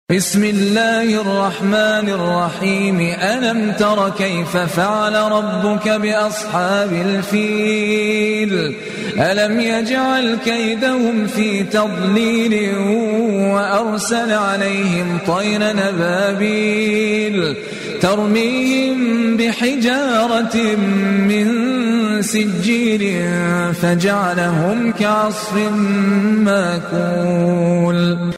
بسم الله الرحمن الرحيم ألم تر كيف فعل ربك بأصحاب الفيل ألم يجعل كيدهم في تضليل وأرسل عليهم طيرا أبابيل ترميهم بحجارة من سجيل فجعلهم كعصف ماكول